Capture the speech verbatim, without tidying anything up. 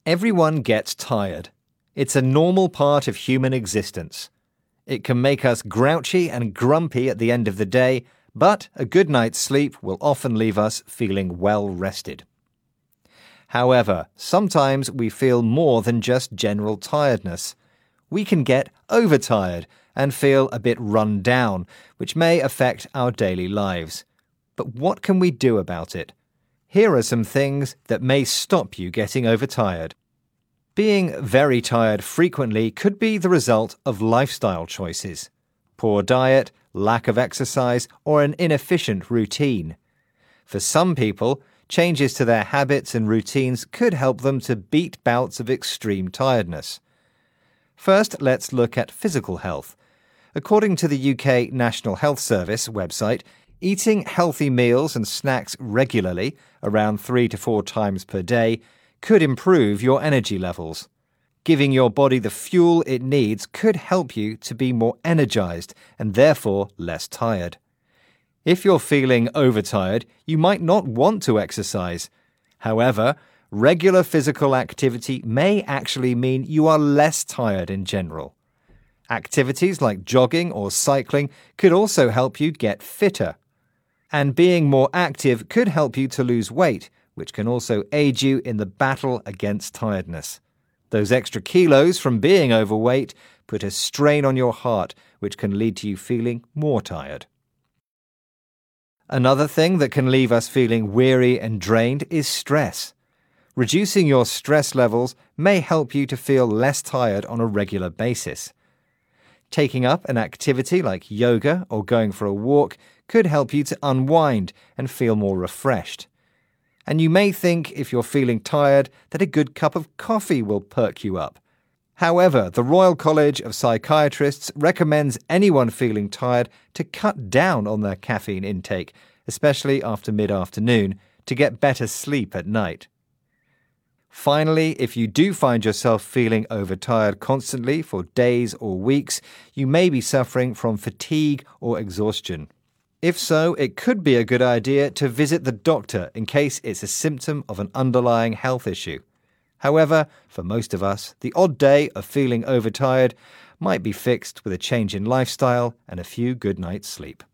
Everyone gets tired. It's a normal part of human existence. It can make us grouchy and grumpy at the end of the day, but a good night's sleep will often leave us feeling well rested. However, sometimes we feel more than just general tiredness. We can get overtired and feel a bit run down, which may affect our daily lives. But what can we do about it? Here are some things that may stop you getting overtired. Being very tired frequently could be the result of lifestyle choices, poor diet, lack of exercise, or an inefficient routine. For some people, changes to their habits and routines could help them to beat bouts of extreme tiredness. First, let's look at physical health. According to the U K National Health Service website, eating healthy meals and snacks regularly, around three to four times per day, could improve your energy levels. Giving your body the fuel it needs could help you to be more energized and therefore less tired. If you're feeling overtired, you might not want to exercise. However, regular physical activity may actually mean you are less tired in general. Activities like jogging or cycling could also help you get fitter. And being more active could help you to lose weight, which can also aid you in the battle against tiredness. Those extra kilos from being overweight put a strain on your heart, which can lead to you feeling more tired. Another thing that can leave us feeling weary and drained is stress. Reducing your stress levels may help you to feel less tired on a regular basis. Taking up an activity like yoga or going for a walk could help you to unwind and feel more refreshed. And you may think, if you're feeling tired, that a good cup of coffee will perk you up. However, the Royal College of Psychiatrists recommends anyone feeling tired to cut down on their caffeine intake, especially after mid-afternoon, to get better sleep at night. Finally, if you do find yourself feeling overtired constantly for days or weeks, you may be suffering from fatigue or exhaustion. If so, it could be a good idea to visit the doctor in case it's a symptom of an underlying health issue. However, for most of us, the odd day of feeling overtired might be fixed with a change in lifestyle and a few good nights' sleep.